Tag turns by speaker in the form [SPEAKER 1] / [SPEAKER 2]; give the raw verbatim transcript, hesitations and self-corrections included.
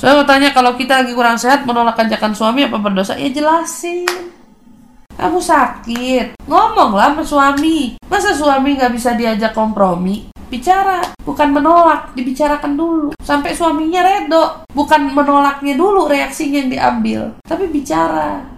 [SPEAKER 1] Saya mau tanya, kalau kita lagi kurang sehat menolak ajakan suami apa berdosa? Ya jelasin. Kamu sakit, ngomonglah sama suami. Masa suami gak bisa diajak kompromi? Bicara, bukan menolak, dibicarakan dulu sampai suaminya redo. Bukan menolaknya dulu reaksinya yang diambil, tapi bicara.